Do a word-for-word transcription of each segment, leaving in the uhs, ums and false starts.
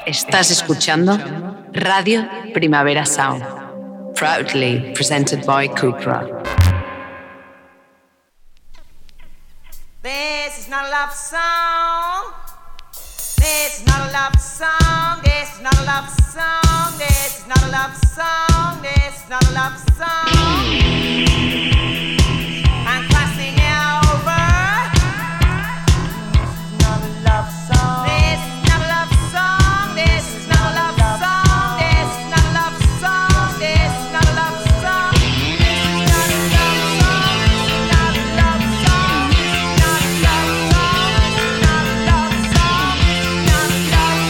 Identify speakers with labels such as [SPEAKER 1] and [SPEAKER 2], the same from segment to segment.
[SPEAKER 1] Estás escuchando Radio Primavera Sound, proudly presented by Cupra.
[SPEAKER 2] This is not a love song. This is not a love song. This is not a love song. This is not a love song. This is not a love song. I'm crossing over. This is not a love song. This is not a love song. This is not a love song. This is not a love song. This is not a love song. This is not a love song. Not a love song. Not a love song. Not a love song. Not a love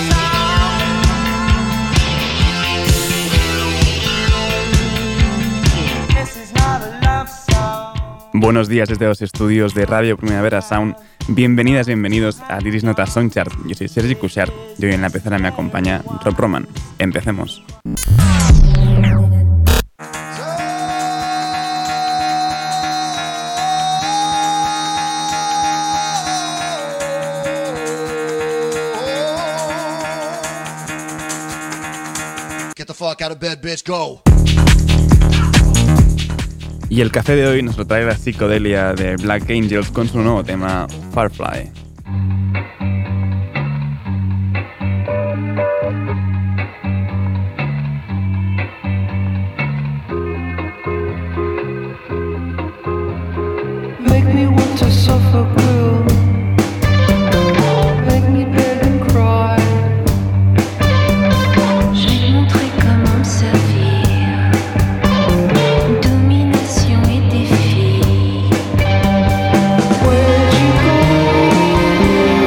[SPEAKER 2] song. This is not a love song.
[SPEAKER 3] Buenos días desde los estudios de Radio Primavera Sound. Bienvenidas, bienvenidos a Iris Nota Songchart. Yo soy Sergi Cuixart y hoy en la pecera me acompaña Rob Roman. Empecemos.
[SPEAKER 4] Get the fuck out of bed, bitch, go.
[SPEAKER 3] Y el café de hoy nos lo trae la psicodelia de Black Angels con su nuevo tema Firefly.
[SPEAKER 5] Make me want to suffer will. Make me beg and cry.
[SPEAKER 6] Je vais montrer comment me servir. Domination et défi.
[SPEAKER 5] Where'd you go?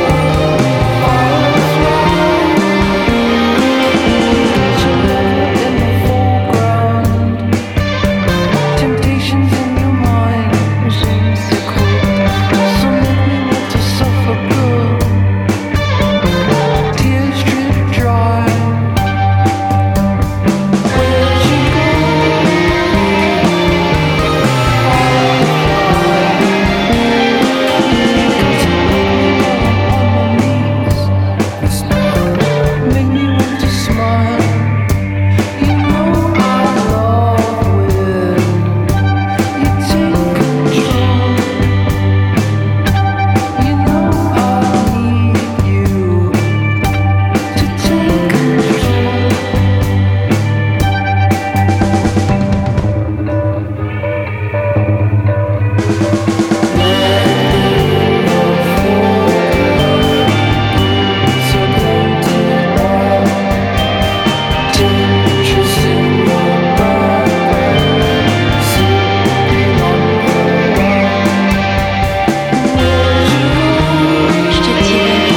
[SPEAKER 5] Firefly. You're never in the foreground. Temptations in your mind. Je sais quoi. So make me want to suffer good. Tears drip dry. Where'd you go? Make me want to smile. You know I love when you take control. You know I need you to take control. So painted white, dangerous in the background, sipping on her wine. Where'd you go?
[SPEAKER 6] Je te dirai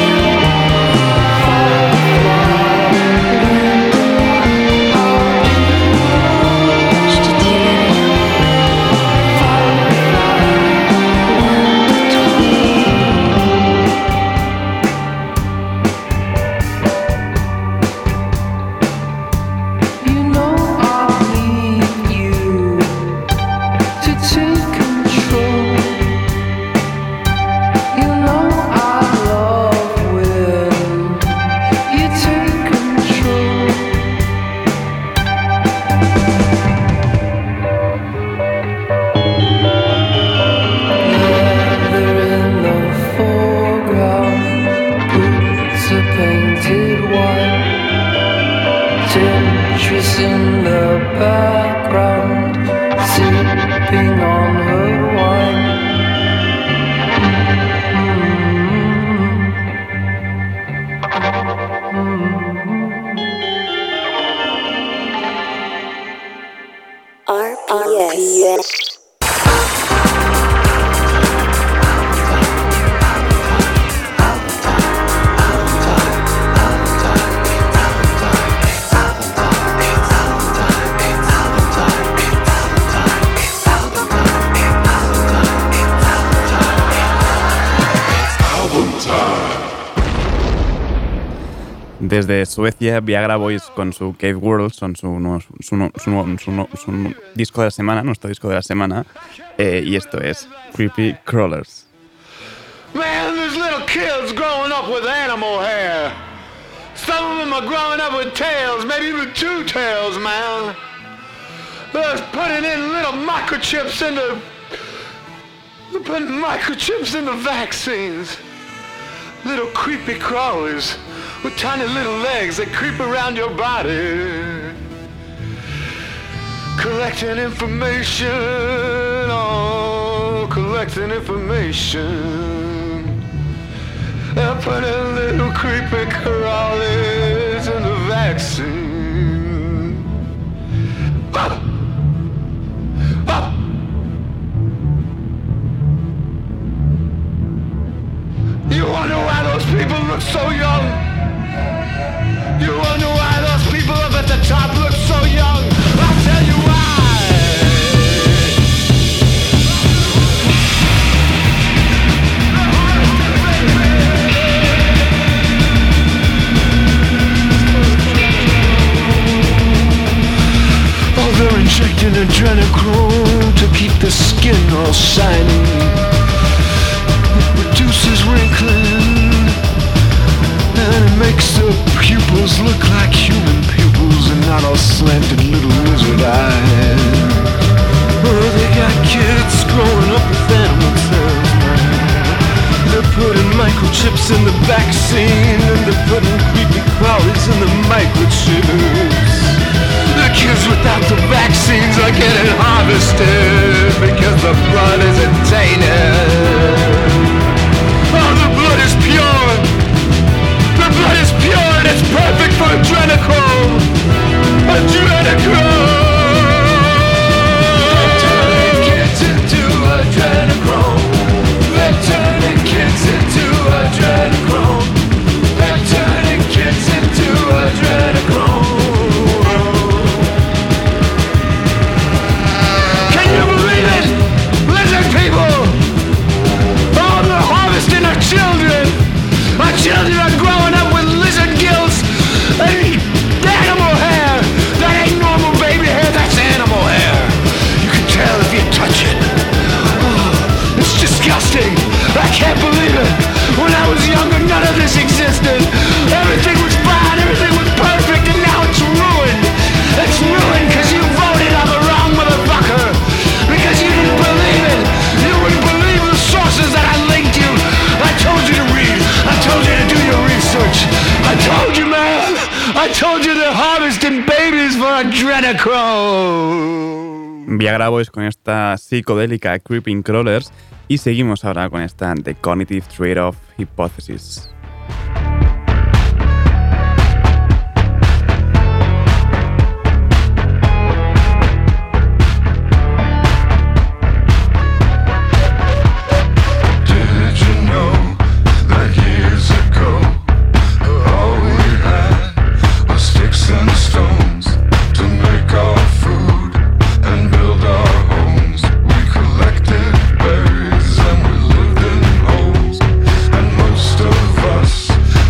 [SPEAKER 6] rien. Je te dirai rien. Loin de
[SPEAKER 5] You know I need you to take control. You know I love when you take control. Leather in the foreground, boots are painted white. Temptress in the background, sipping on her wine.
[SPEAKER 6] R P S.
[SPEAKER 3] Desde Suecia, Viagra Boys con su Cave World son su, nuevo- su, nu- su, nu- su, nu- su nu- disco de la semana, nuestro disco de la semana, eh, y esto es Creepy Crawlers.
[SPEAKER 7] Man, there's little kids growing up with animal hair. Some of remember growing up with tails, maybe even two tails, man. They was putting in little microchips into, they're putting microchips into vaccines. Little creepy crawlers with tiny little legs that creep around your body. Collecting information, oh, collecting information. They're putting little creepy crawlers in the vaccine. Ah! Ah! You wonder why those people look so young? You wonder why those people up at the top look so young? I'll tell you why. Oh, they're injecting adrenochrome to keep the skin all shiny. It reduces wrinkling, and it makes the pupils look like human pupils and not all slanted little lizard eyes. Oh, they got kids growing up with animal cells, man. They're putting microchips in the vaccine, and they're putting creepy crawlies in the microchips. The kids without the vaccines are getting harvested because the blood isn't tainted. Oh, the blood is pure. The blood is pure and it's perfect for adrenochrome. Adrenochrome. They're turning kids into adrenochrome. They're turning kids into adrenochrome. They're turning kids into adrenochrome. Can you believe it? Lizard people! Oh, they're harvesting our children! Our children are growing up with lizard gills and animal hair! That ain't normal baby hair, that's animal hair! You can tell if you touch it. Oh, it's disgusting! I can't believe it! When I was younger, none of this existed! Everything was fine, everything was perfect, and now it's ruined! It's ruined because you voted on the wrong motherfucker! Because you didn't believe it! You wouldn't believe the sources that I linked you! I told you to read! I told you to do your research! I told you, man! I told you they're harvesting babies for adrenochrome!
[SPEAKER 3] Viagra Boys con esta psicodélica Creeping Crawlers y seguimos ahora con esta The Cognitive Trade-off Hypothesis.
[SPEAKER 7] Did you know that years ago all we had was sticks and stones to make our food and build our homes? We collected berries and we lived in holes, and most of us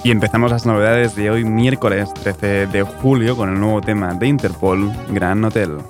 [SPEAKER 3] Y empezamos las novedades de hoy, miércoles trece de julio, con el nuevo tema de Interpol, Grand Hotel.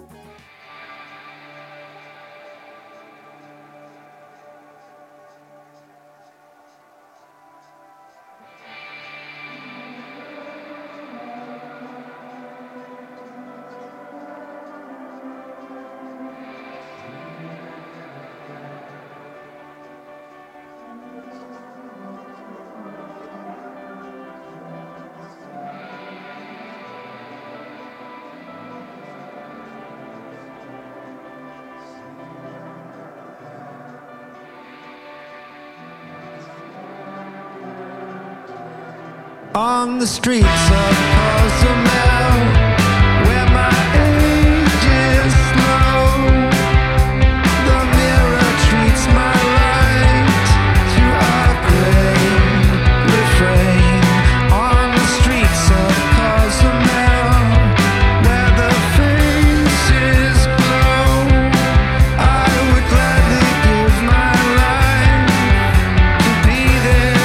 [SPEAKER 7] On the streets of Cozumel, where my age is slow, the mirror treats my light to a gray refrain. On the streets of Cozumel, where the faces glow, I would gladly give my life to be there.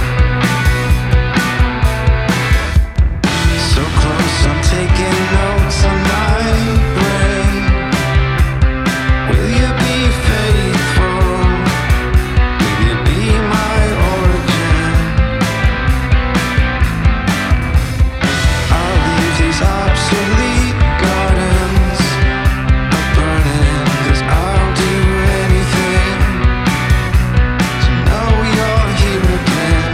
[SPEAKER 7] So close, I'm taking notes on my brain. Will you be faithful? Will you be my origin? I'll leave these obsolete gardens a-burning, 'cause I'll do anything to know you're here again.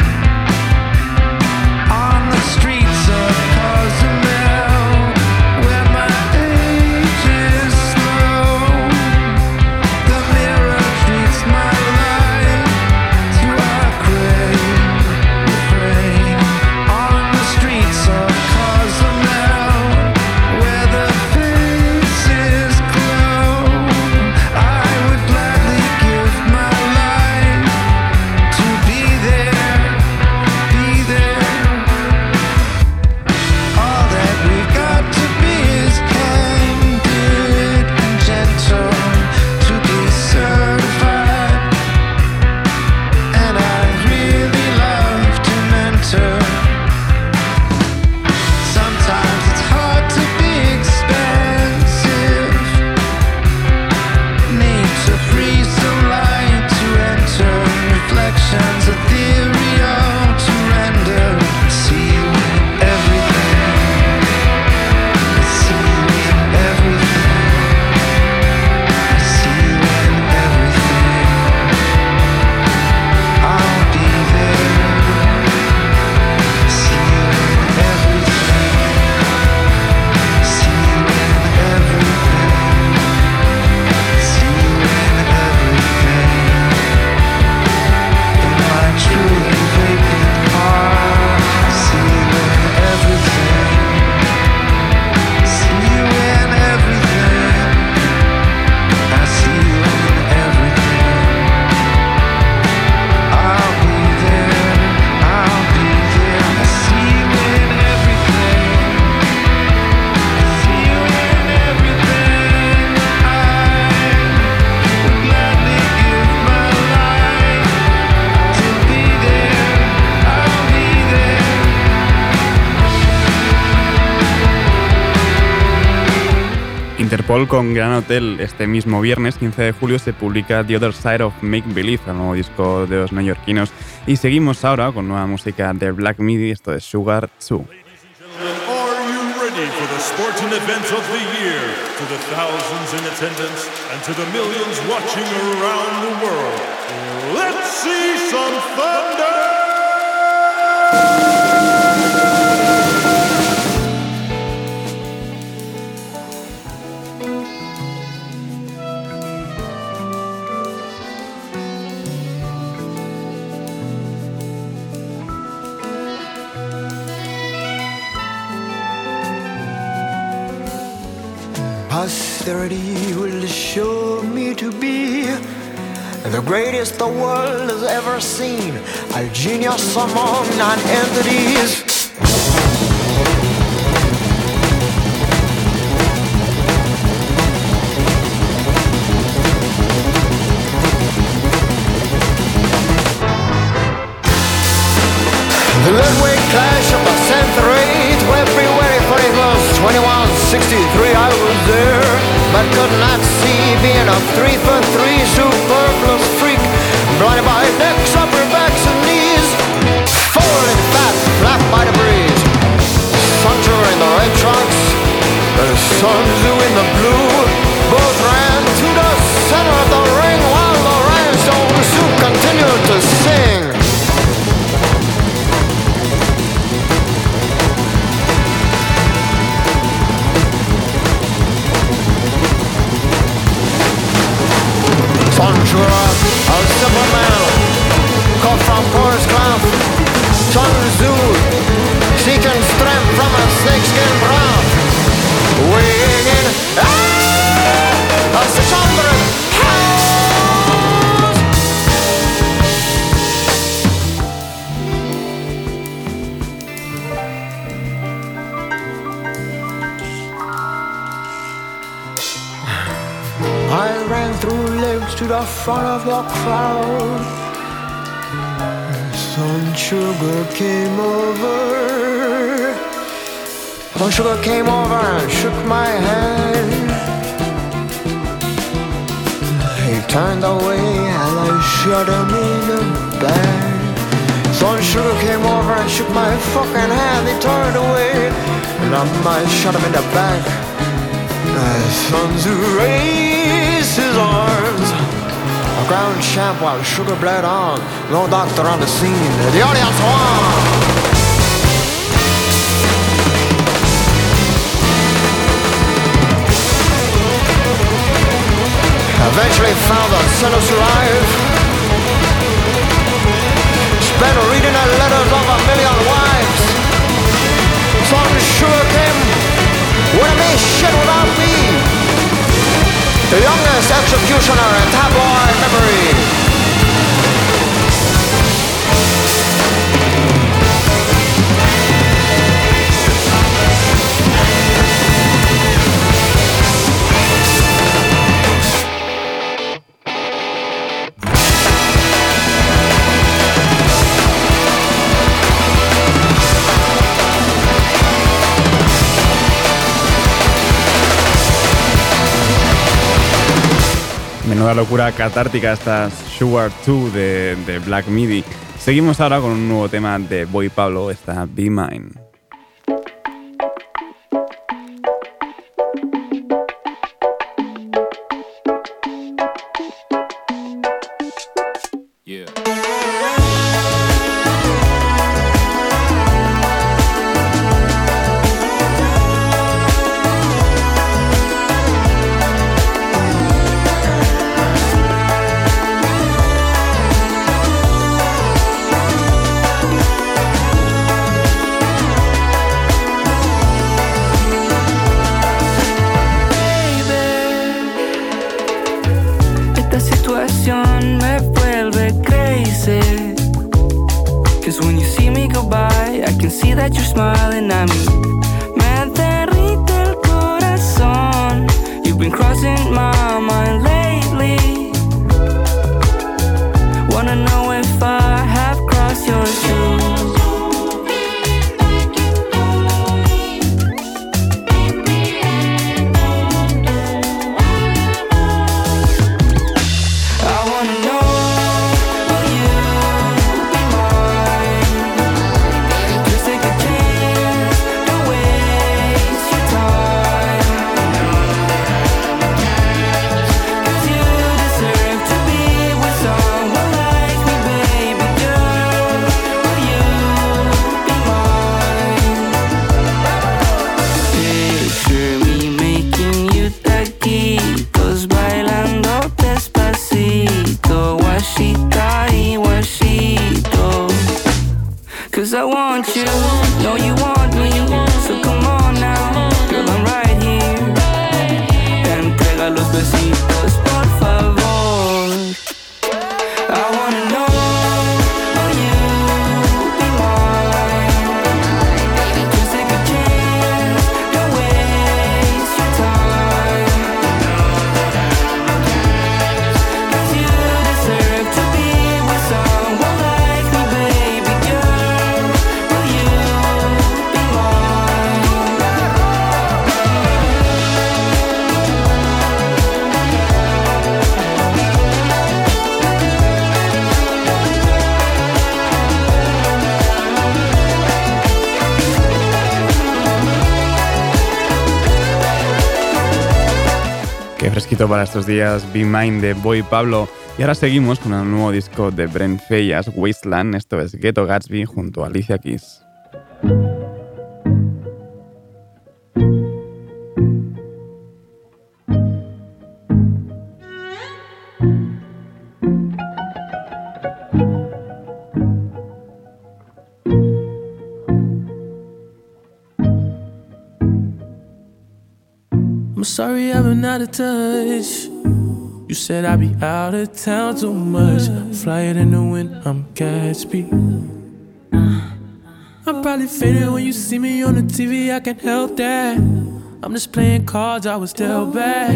[SPEAKER 7] On the streets of Cozumel, where my age is slow, the mirror treats my life to a gray refrain. On the streets of Cozumel, where the faces glow, I would gladly give my life to be there, be there. All that we've got to be is candid and gentle to be certified. And I'd really love to mentor. Sometimes it's hard to be expensive. Need to freeze some light to enter. Reflections ethereal to render. See you in everything. See you in everything. See you in everything. I'll be there. See you in everything. See you in everything. See you in everything. In my truly vacant heart, see you in everything. See you in everything. I see you in everything. I'll be there. I'll be there. I see you in everything. See you in everything. I would gladly give my life to be there. I'll be there.
[SPEAKER 3] Interpol con Grand Hotel. Este mismo viernes, quince de julio, se publica The Other Side of Make Believe, el nuevo disco de los neoyorquinos. Y seguimos ahora con nueva música de Black Midi, esto es Sugar two.
[SPEAKER 8] Are you ready for the sporting event of the year? To the thousands in attendance and to the millions watching around the world, let's see some thunder!
[SPEAKER 7] Posterity will show me to be the greatest the world has ever seen, a genius among non-entities. Let sixty-three I was there, but could not see, being a three for three superfluous freak, blinded by necks, upper backs and knees, folding fat, flapped by the breeze. Sancho in the red trunks, and Sun Tzu in the blue, both ran to the center of the ring while the rhinestone suit continued to sing. Sancho, a simple man, cut from porous cloth. Sun Tzu, seeking strength from a snakeskin broth. Weighing in ah, a six hundred pounds. I ran through legs to the front of your crowd. Sun Sugar came over. Sun Sugar came over and shook my hand. He turned away and I shot him in the back. Sun Sugar came over and shook my fucking hand. He turned away and I shot him in the back. Sun Tzu raised his arms. A ground champ while Sugar bled on. No doctor on the scene. The audience won. Eventually found the sentence alive. Spent reading the letters of a million wives. Sun Sugar came with a me shit without me. The youngest executioner in tabloid memory.
[SPEAKER 3] Menuda locura catártica esta Sugar dos de, de Black Midi. Seguimos ahora con un nuevo tema de Boy Pablo, esta Be Mine.
[SPEAKER 9] Take a chance, don't waste your time.
[SPEAKER 3] Favorito para estos días, Be Mine de Boy Pablo. Y ahora seguimos con el nuevo disco de Brent Faiyaz, Wasteland. Esto es Ghetto Gatsby junto a Alicia Keys.
[SPEAKER 9] I'm sorry I've been out of touch. You said I'd be out of town too much. Fly it in the wind, I'm Gatsby. I'm probably faded when you see me on the T V, I can't help that. I'm just playing cards, I was dealt back.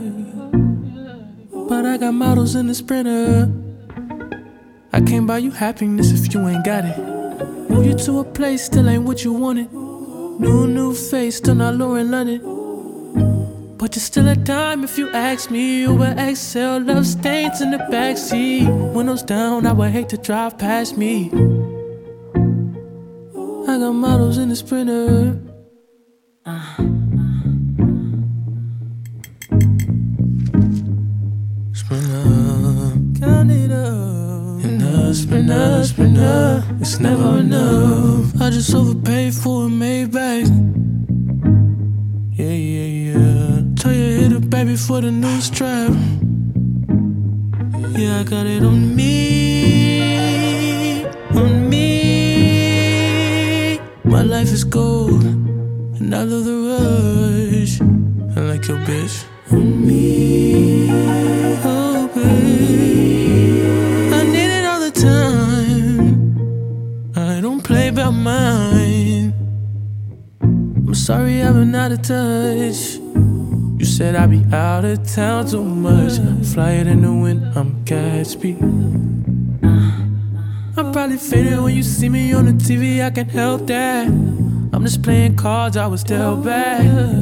[SPEAKER 9] But I got models in the Sprinter. I can't buy you happiness if you ain't got it. Move you to a place, still ain't what you wanted. New, new face, still not Lauren London. But you're still a dime if you ask me. Uber X L, love stains in the backseat. Windows down, I would hate to drive past me. I got models in the Sprinter. uh. Sprinter, count it up. In the Sprinter, Sprinter, it's never enough. I just overpaid for a Maybach. Yeah, yeah, yeah. Tell you hit it, baby, for the new strap. Yeah, I got it on me, on me. My life is gold, and I love the rush. I like your bitch. On me, oh babe, I need it all the time. I don't play by mine. I'm sorry I've been out of touch. You said I'd be out of town too much. Fly it in the wind, I'm Gatsby. I'm probably faded when you see me on the T V, I can't help that. I'm just playing cards, I was dealt back.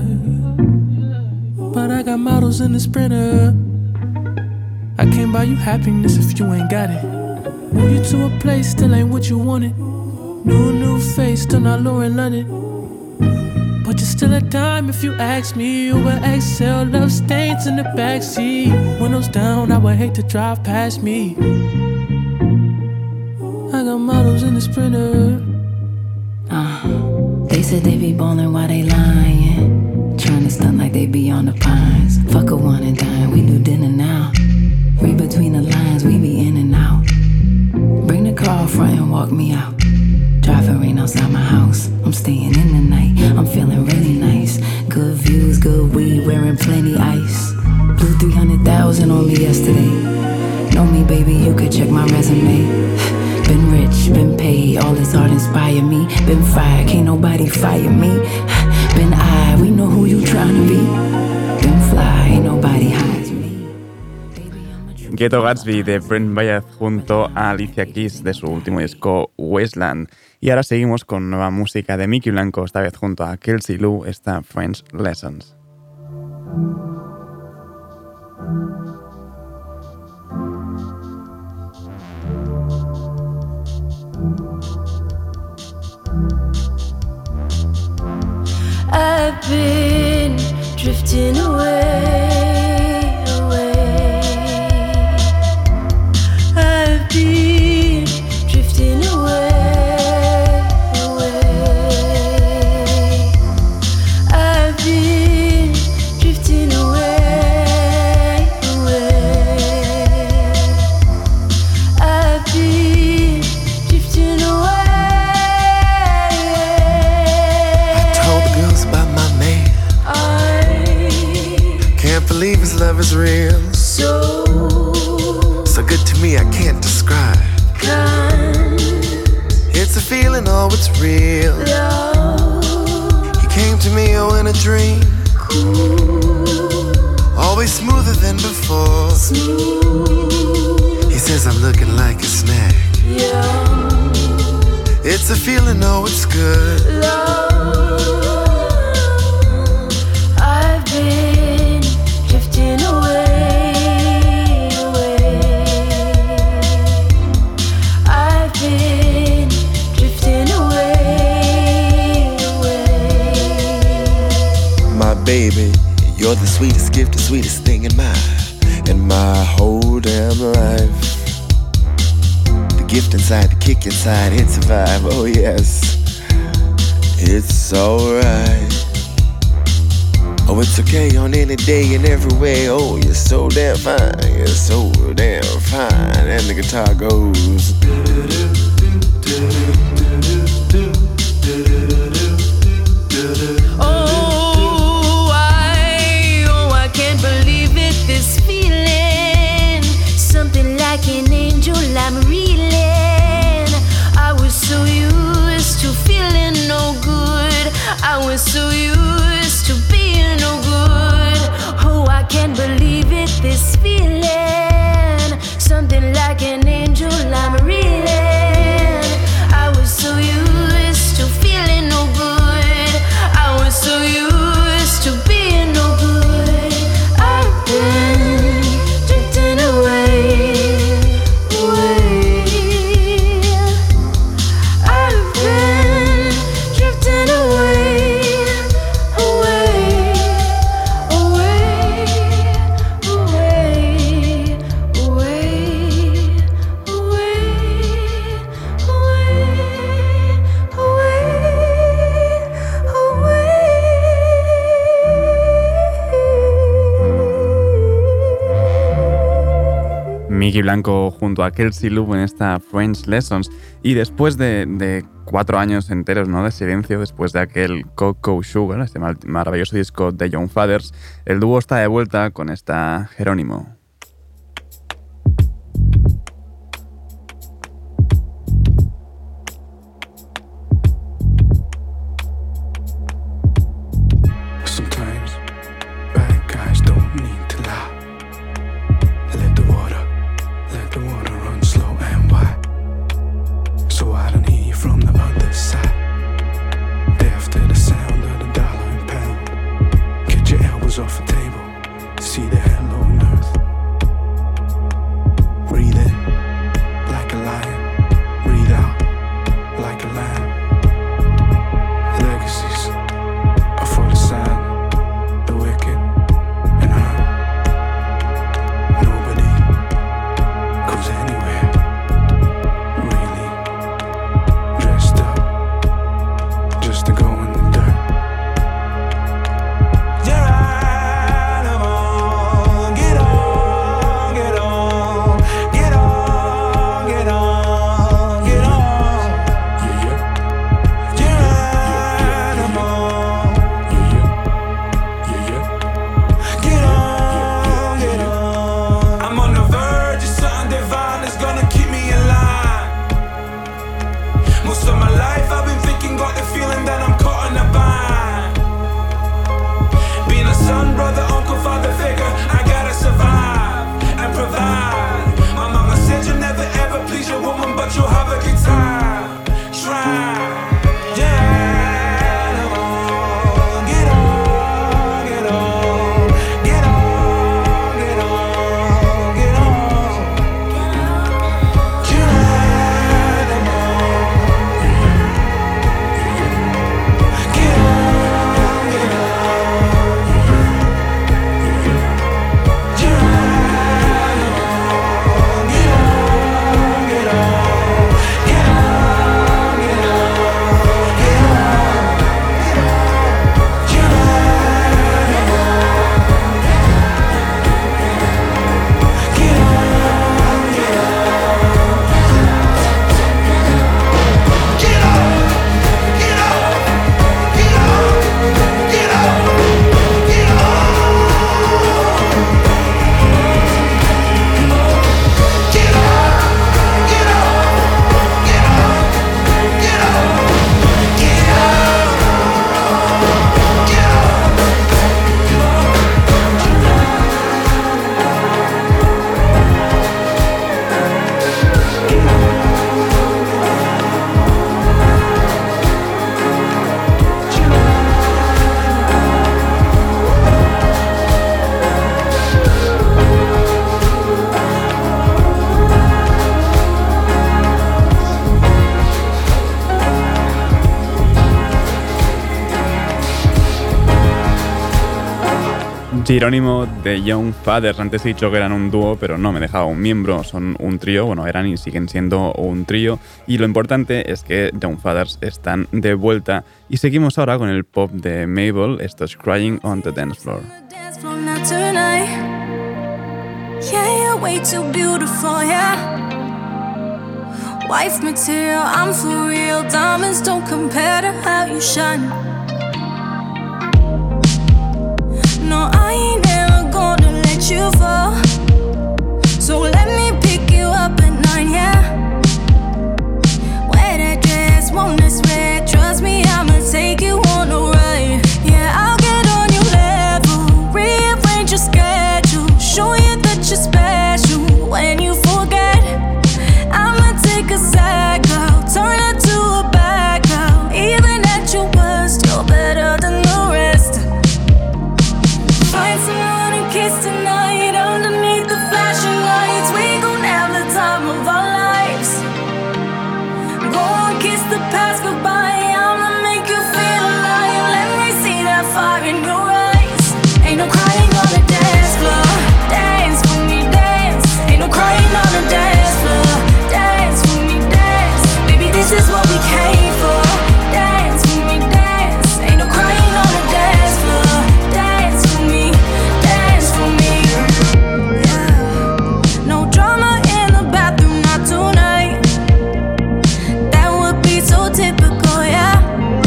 [SPEAKER 9] But I got models in the Sprinter. I can't buy you happiness if you ain't got it. Move you to a place, still ain't what you wanted. New, new face, still not Lauren London. But you're still a dime if you ask me. Uber X L, love stains in the backseat. Windows down, I would hate to drive past me. I got models in the Sprinter.
[SPEAKER 10] Uh, they said they be ballin' while they lying. Trying to stunt like they be on the pines. Fuck a one and dine, we do dinner now. Read between the lines, we be in and out. Bring the car front and walk me out. Driving rain outside my house, I'm staying in the night. I'm feeling really nice. Good views, good weed, wearing plenty ice. Blew three hundred thousand on me yesterday. Know me, baby, you could check my resume. Been rich, been paid, all this art inspire me. Been fired, can't nobody fire me. Been I, we know who you trying to be. Been fly, ain't nobody hides me.
[SPEAKER 3] Ghetto Gatsby de Brent Faiyaz junto a Alicia Keys de su último disco Wasteland. Y ahora seguimos con nueva música de Mickey Blanco, esta vez junto a Kelsey Lou, esta French Lessons.
[SPEAKER 11] I've been drifting away, away. I've been drifting away, away. I've been drifting away, away. I've been drifting away.
[SPEAKER 12] Believe his love is real.
[SPEAKER 11] So,
[SPEAKER 12] so good to me, I can't describe.
[SPEAKER 11] Kind,
[SPEAKER 12] it's a feeling, oh, it's real.
[SPEAKER 11] Love,
[SPEAKER 12] he came to me, oh, in a dream.
[SPEAKER 11] Cool,
[SPEAKER 12] always smoother than before.
[SPEAKER 11] Smooth,
[SPEAKER 12] he says I'm looking like a snack.
[SPEAKER 11] Yum,
[SPEAKER 12] it's a feeling, oh, it's good.
[SPEAKER 11] Love, I've been drifting away, away. I've been drifting away, away.
[SPEAKER 12] My baby, you're the sweetest gift, the sweetest thing thing in my, in my whole damn life. The gift inside, the kick inside, it's a vibe, oh yes. It's alright. Oh, it's okay on any day and every way. Oh, you're so damn fine, you're so damn fine. And the guitar goes.
[SPEAKER 11] Oh, I, oh, I can't believe it, this feeling. Something like an angel I'm reeling. I was so used to feeling no good. I was so used to being no good. Oh, I can't believe it, this feeling. Something like an angel I'm reeling. I was so used to feeling no good. I was so used to being no good. I've been drifting away, away. I've been drifting away, away, away, away, away,
[SPEAKER 3] Miki Blanco junto a Kelsey Loop en esta French Lessons. Y después de, de cuatro años enteros, ¿no?, de silencio, después de aquel Cocoa Sugar, este mar- maravilloso disco de Young Fathers, el dúo está de vuelta con esta Jerónimo.
[SPEAKER 9] Sometimes bad guys don't need to lie. Let the water, let the water run slow and wide, so I don't hear you from the other side. Deaf to the sound of the dollar and pound. Get your elbows off the table, see the hello on earth.
[SPEAKER 3] Jerónimo de Young Fathers. Antes he dicho que eran un dúo, pero no, me dejaba un miembro. Son un trío, bueno, eran y siguen siendo un trío. Y lo importante es que Young Fathers están de vuelta. Y seguimos ahora con el pop de Mabel. Esto es Crying on the Dance Floor.
[SPEAKER 11] Yeah, you're way too beautiful, yeah. Wife material, I'm for real. Diamonds don't compare to how you shine. No, I ain't never gonna let you fall. So let me pick you up at night, yeah. Wear that dress, won't sweat. Trust me, I'ma take you on a ride. Yeah, I'll get on your level, rearrange your schedule, show you that you're special. When you forget, I'ma take a side girl, turn her to a bad girl. Even at your worst, you're better than the rest. Find someone to kiss tonight underneath the flashing lights. We gon' have the time of our lives. Go and kiss the past goodbye. I'ma make you feel alive. Let me see that fire in your eyes. Ain't no crying on the dance floor. Dance for me, dance. Ain't no crying on the dance floor. Dance for me, dance. Baby, this is what we came for. Dance for me, dance. Ain't no crying on the dance floor. Dance for me, dance for me. Yeah. No drama in the bathroom, not tonight. That would be so typical, yeah.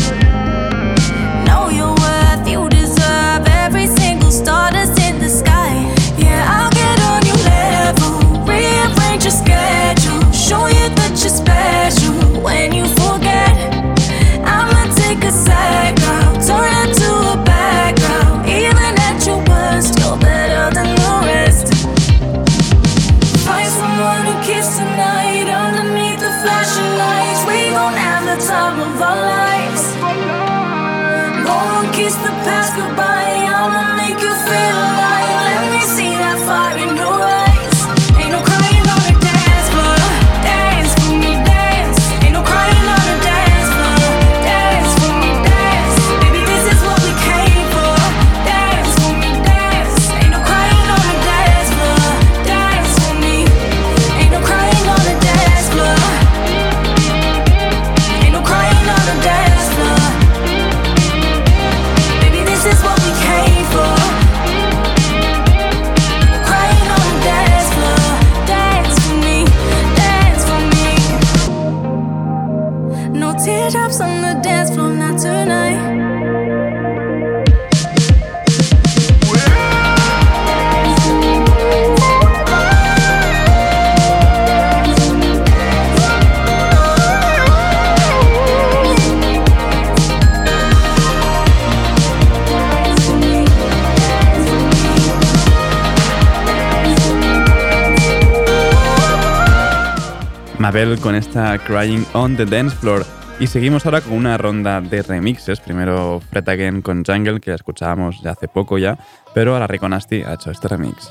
[SPEAKER 11] Know your worth, you deserve every single star that's in the sky. Yeah, I'll get on your level, rearrange your schedule, show you that you're special. When you forget, I'ma take a side girl, turn her to a bad girl. Even at your worst, you're better than the rest. Find someone to kiss tonight underneath the flashing lights. We gon' have the time of our lives. Go and kiss the past goodbye. I'ma make you feel alive. Let me see that fire in your eyes. Ain't no crying on the dance floor. Dance for me, dance. Ain't no crying on the dance floor. Dance for me, dance. Baby, this is what we came for. Dance for me, dance. Ain't no crying on the dance floor. Dance for me. Ain't no crying on the dance floor. Ain't no crying on the dance floor. Baby, this is what we came for. Crying on the dance floor. Dance for me, dance for me. No teardrops on the dance floor, not tonight.
[SPEAKER 3] Mabel con esta Crying on the Dance Floor. Y seguimos ahora con una ronda de remixes. Primero Fred Again con Jungle, que la escuchábamos ya hace poco ya, pero ahora Rico Nasty ha hecho este remix.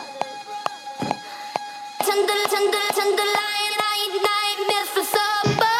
[SPEAKER 11] Tender, tender, tender lion, I ignite myth for supper.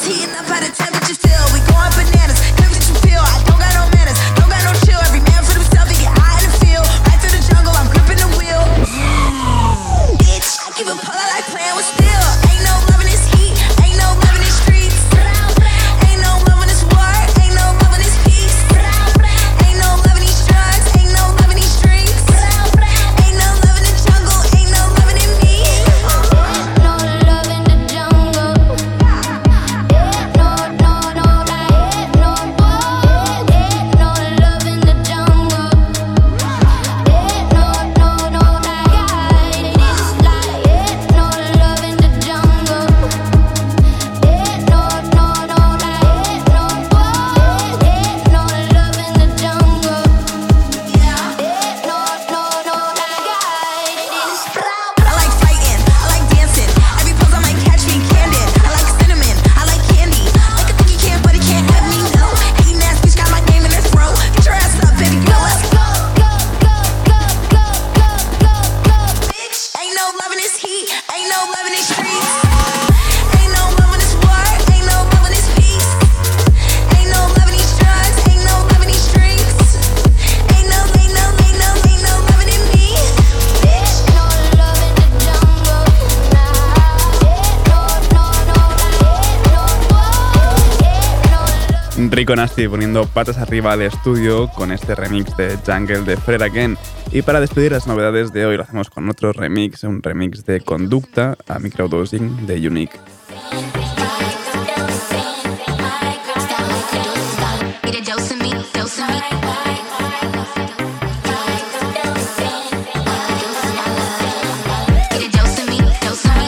[SPEAKER 13] heating up how the temperature feel. We going bananas, never did you feel? I don't got no manners, don't got no chill. Every man for himself, he get high in the field. Right through the jungle, I'm gripping the wheel. Bitch, I give a pull, I like playing with steel. Ain't no love in this heat, ain't no love in these streets. Ain't no love in this war, ain't no love in this peace. Ain't no love in these drugs, ain't no love in these streets. Ain't no love in the jungle, ain't no love in me.
[SPEAKER 11] No love in the jungle. No, no, no, like no boy. No love in the jungle. No, no, no, like it is like no love in the jungle. No, no, no, like no boy. No love in the jungle. No, no, no, like it is.
[SPEAKER 13] I like fighting, I like dancing. Every pose I might catch me candid. I like cinnamon, I like candy. Like a thing you can't, but it can't have me, no. Hating ass bitch got my name in their throat. Get your ass up, baby girl, let's go. Bitch, ain't no love in this heat, ain't no love in these streets. Ain't no love in this war, ain't no love in this peace. Ain't no love in these drugs, ain't no love in these streets. Ain't no, ain't no, ain't no, ain't no love in me. Bitch,
[SPEAKER 11] No love in the jungle. No, no, no, like no boy.
[SPEAKER 3] Rico Nasty poniendo patas arriba al estudio con este remix de Jungle de Fred Again. Y para despedir las novedades de hoy lo hacemos con otro remix, un remix de Conducta a Microdosing de Unique.
[SPEAKER 11] Get a dose of me, dose of me. Get a dose of me, dose of me.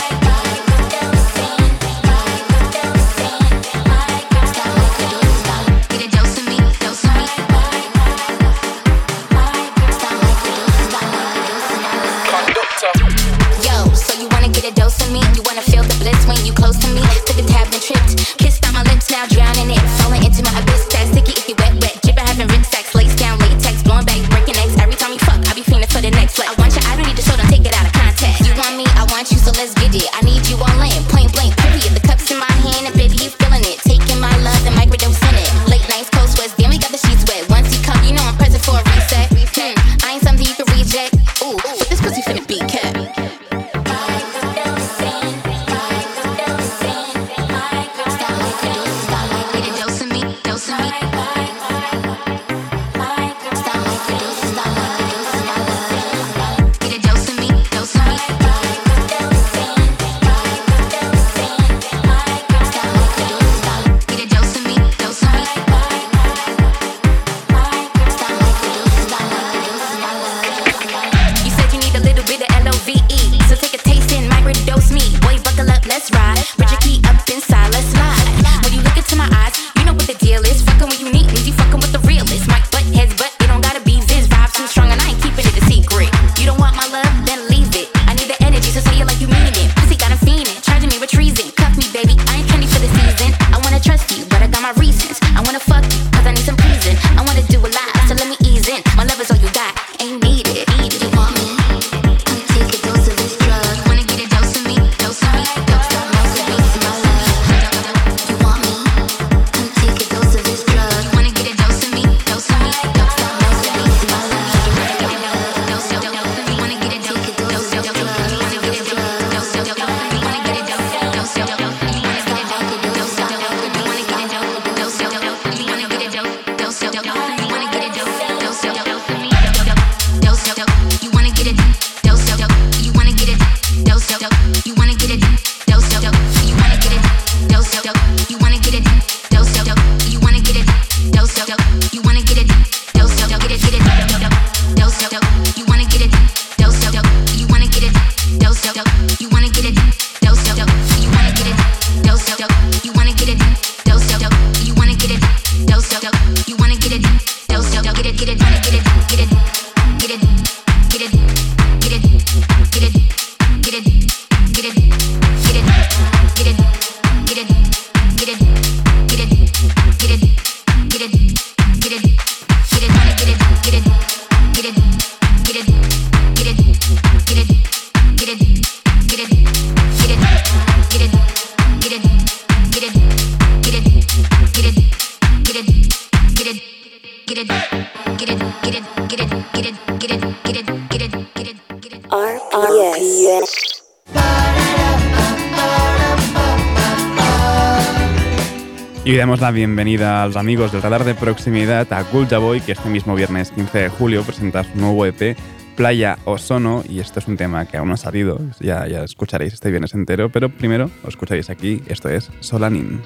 [SPEAKER 11] Get a dose of me, dose of me. Yo, so you wanna get a dose of me? You wanna feel the bliss when you close to me? Took a tab and tripped, kissed on my lips, now drowning it. Falling into my abyss, that sticky, icky, wet, wet. Dripping, having rynsacks, lace down, latex, blowing back, breaking necks. Every time you fuck, I be feeling for the next flex. I want your identity, so don't take it out of context. You want me, I want you, so let's get it. I need you all in, point blank, period. The cups in my hand, and baby, you feeling it. Taking my love and microdosing it. Late nights, cold sweats, damn, we got the sheets wet. Once you come, you know I'm present for a reset. Hmm, I ain't something you can reject. Ooh, but this pussy finna be kept. Get a dose of me, dose of me. Get a dose of me, dose of me. Get a dose of me, dose of me. You said you need a little bit of L O V E, so take a taste and microdose me. Boy, buckle up, let's ride. Put your key up inside, let's slide. When you look into my eyes, you know what the deal is. Fucking when you need me, you fucking with the realest. Mic butt heads, but it don't gotta be this. Vibe too strong and I ain't keeping it a secret. You don't want my love, then leave it. I need the energy, so say it like you mean it. Pussy got 'em fiending, charging me with treason. Cuff me, baby, I ain't trendy for the season. I wanna trust you, but I got my reasons. I wanna fuck you, cause I need some pleasing. I wanna do a lot, so let me ease in. My love is all you got, ain't need it. Need it. You want me? Come take a dose of this drug. Wanna get a dose of me, dose of me, dose of me, dose of me. You want me? Come take a dose of this drug. Wanna get a dose of me, dose of me, dose of me, dose of me. Dose of me, wanna get a dose of dose of me, wanna get a dose of dose of me, wanna get a dose of dose of me, wanna get a dose of dose of me, wanna get a dose of dose of me, wanna
[SPEAKER 6] S.
[SPEAKER 3] Y hoy damos la bienvenida a los amigos del radar de proximidad a Gulja Boy, que este mismo viernes quince de julio presenta su nuevo E P, Playa Ozono, y esto es un tema que aún no ha salido, ya, ya escucharéis este viernes entero, pero primero os escucharéis aquí, esto es Solanin.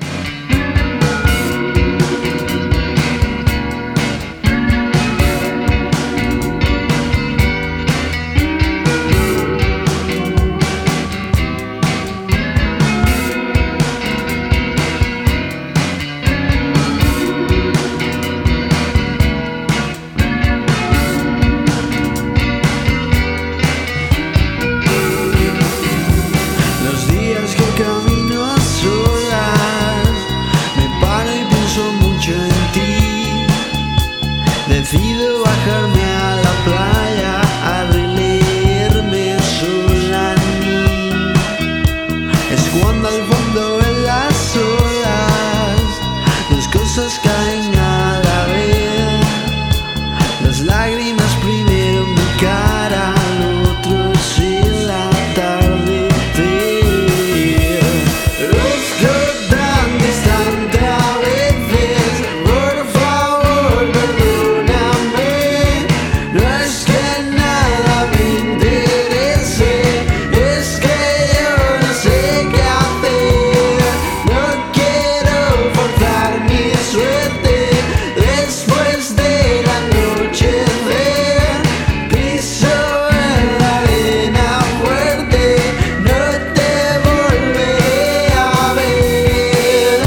[SPEAKER 7] Decido bajarme a la playa a releerme Solanin. Es cuando al fondo ven las olas, dos cosas caen a la vez. Las lágrimas primero en mi cara, lo otro es el atardecer. Luzco tan distante a veces, por favor, perdóname. No es que nada me interese, es que yo no sé qué hacer. No quiero forzar mi suerte después del anochecer. Piso en la arena fuerte, no te volveré a ver.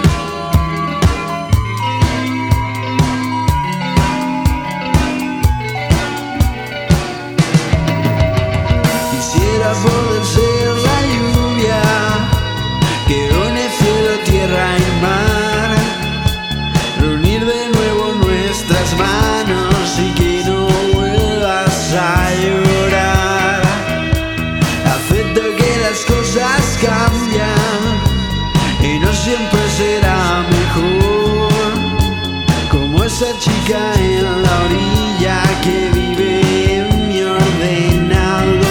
[SPEAKER 7] Quisiera poder ser la lluvia que une cielo, tierra y mar, reunir de nuevo nuestras manos y que no vuelvas a llorar. Acepto que las cosas cambian y no siempre será mejor, como esa chica en la orilla que vive en mi ordenador.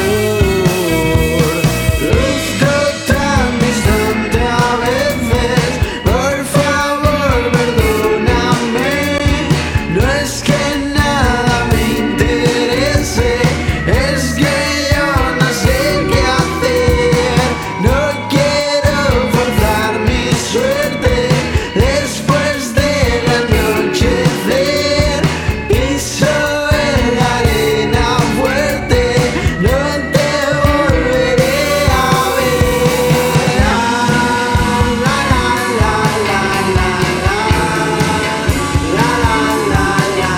[SPEAKER 7] Luzco tan distante a veces, por favor, perdóname. No es que nada me interese, es que yo no sé qué hacer. No quiero forzar mi suerte después del anochecer. Piso en la arena fuerte, no te volveré a ver. La la la la la la la la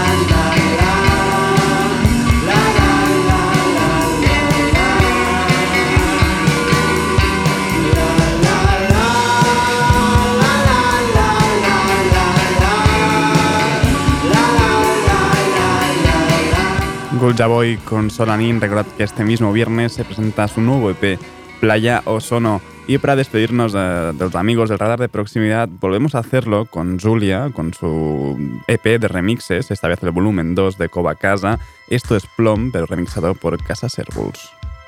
[SPEAKER 3] Gulja Boy con Solanin. Recordad que este mismo viernes se presenta su nuevo E P, Playa Ozono. Y para despedirnos de, de los amigos del radar de proximidad, volvemos a hacerlo con Julia, con su E P de remixes, esta vez el volumen dos de Cova Casa. Esto es Plom, pero remixado por Casa Servuls.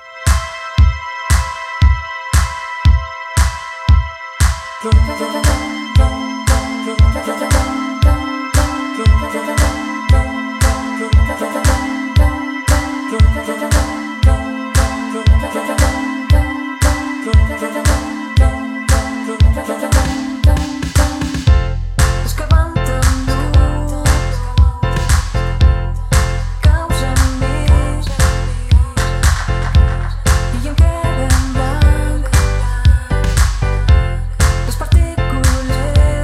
[SPEAKER 5] Es que van tanto, causen mis, y en que vendrán las partículas.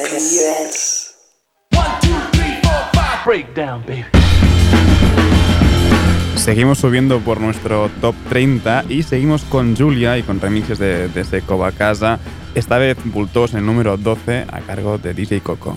[SPEAKER 6] S.
[SPEAKER 7] Breakdown, baby.
[SPEAKER 3] Seguimos subiendo por nuestro top treinta y seguimos con Julia y con remixes de, de Seco Bacasa. Esta vez Bultos en el número doce a cargo de D J Coco.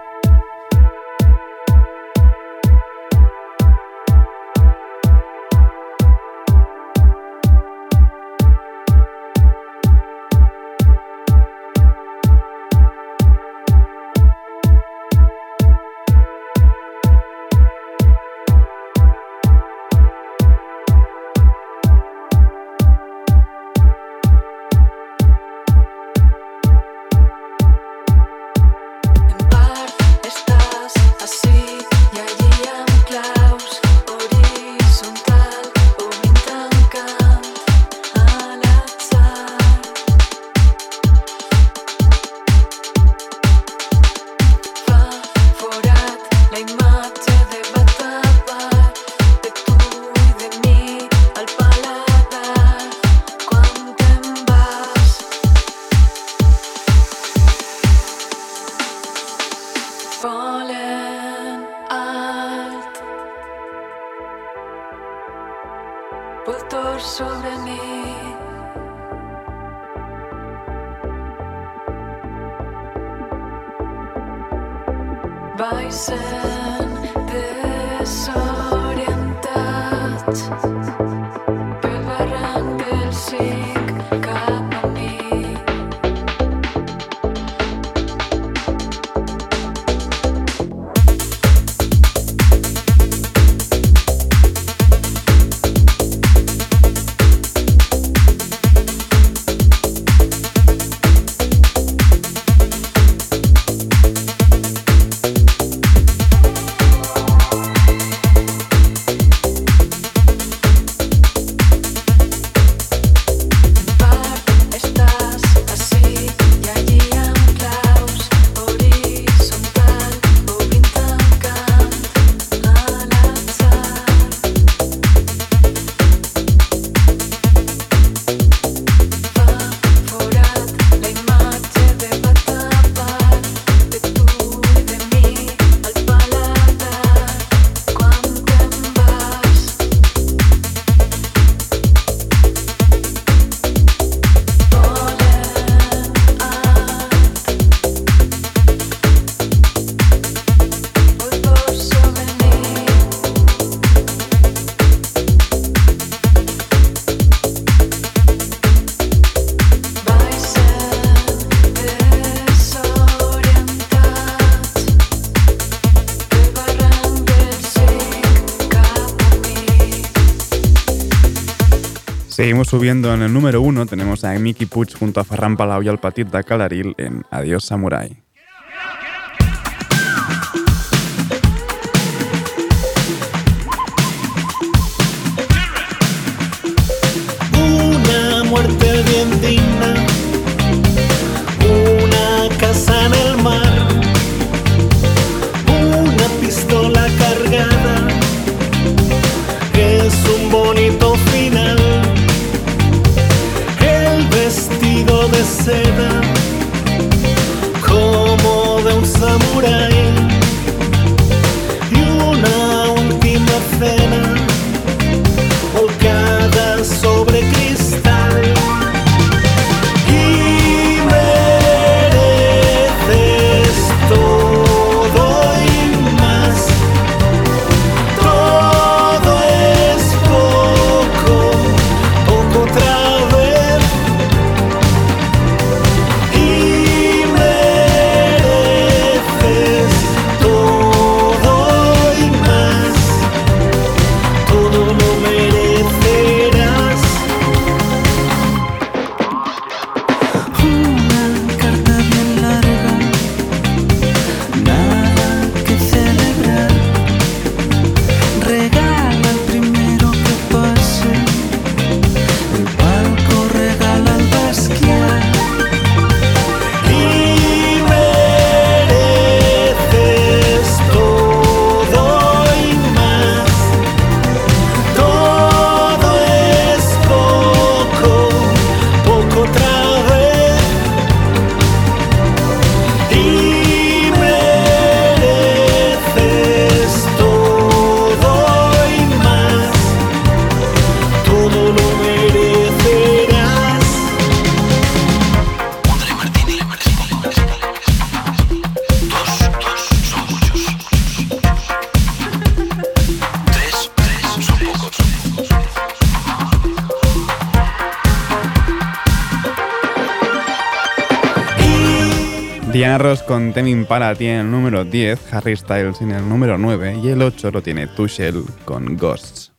[SPEAKER 5] Voltor sobre mí. Vai sent desorientats pel barranc del cinc cap a mi.
[SPEAKER 3] Seguimos subiendo en el número uno, tenemos a Mickey Puig junto a Ferran Palau y al Petit de Calaril en Adiós Samurai.
[SPEAKER 14] Una muerte bien digna, una casa en el mar, una pistola cargada, es un bonito final. El vestido de seda, como de un samurái, y una última cena, volcada sobre cristal.
[SPEAKER 3] Diana Ross con Tame Impala tiene el número diez, Harry Styles en el número nueve y el ocho lo tiene Tuchel con Ghosts.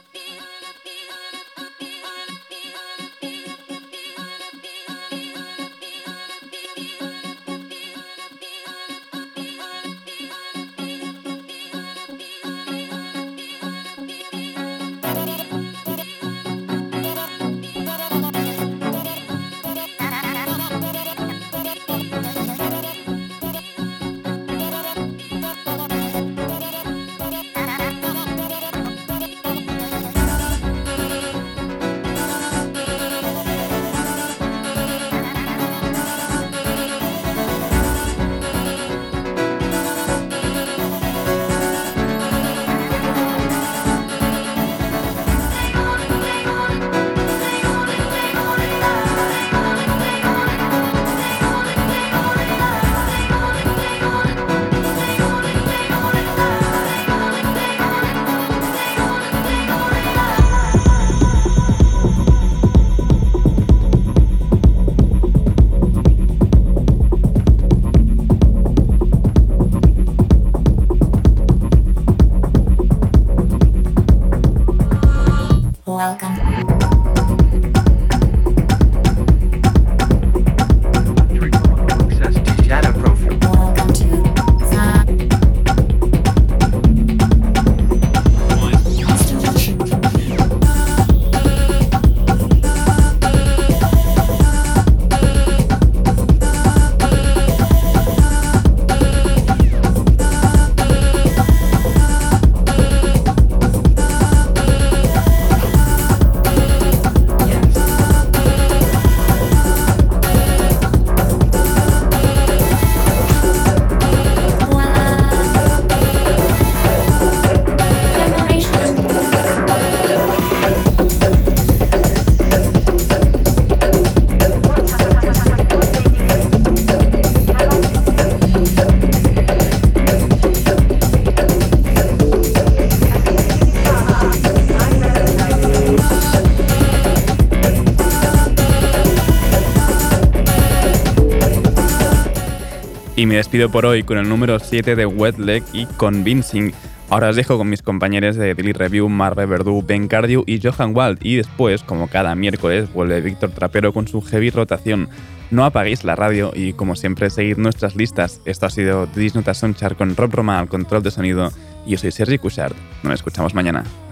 [SPEAKER 3] Y me despido por hoy con el número siete de Wet Leg y Convincing. Ahora os dejo con mis compañeros de Daily Review, Marve Verdú, Ben Cardew y Johan Wald. Y después, como cada miércoles, vuelve Víctor Trapero con su heavy rotación. No apaguéis la radio y, como siempre, seguid nuestras listas. Esto ha sido This Nota Soundchart con Rob Roma al control de sonido. Y yo soy Sergi Cushart. Nos escuchamos mañana.